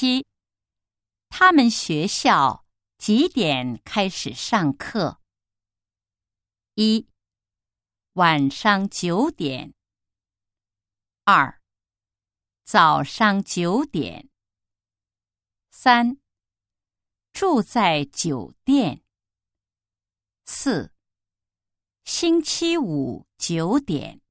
7. 他们学校几点开始上课？1. 晚上9点。2. 早上9点。3. 住在酒店。4. 星期五9点。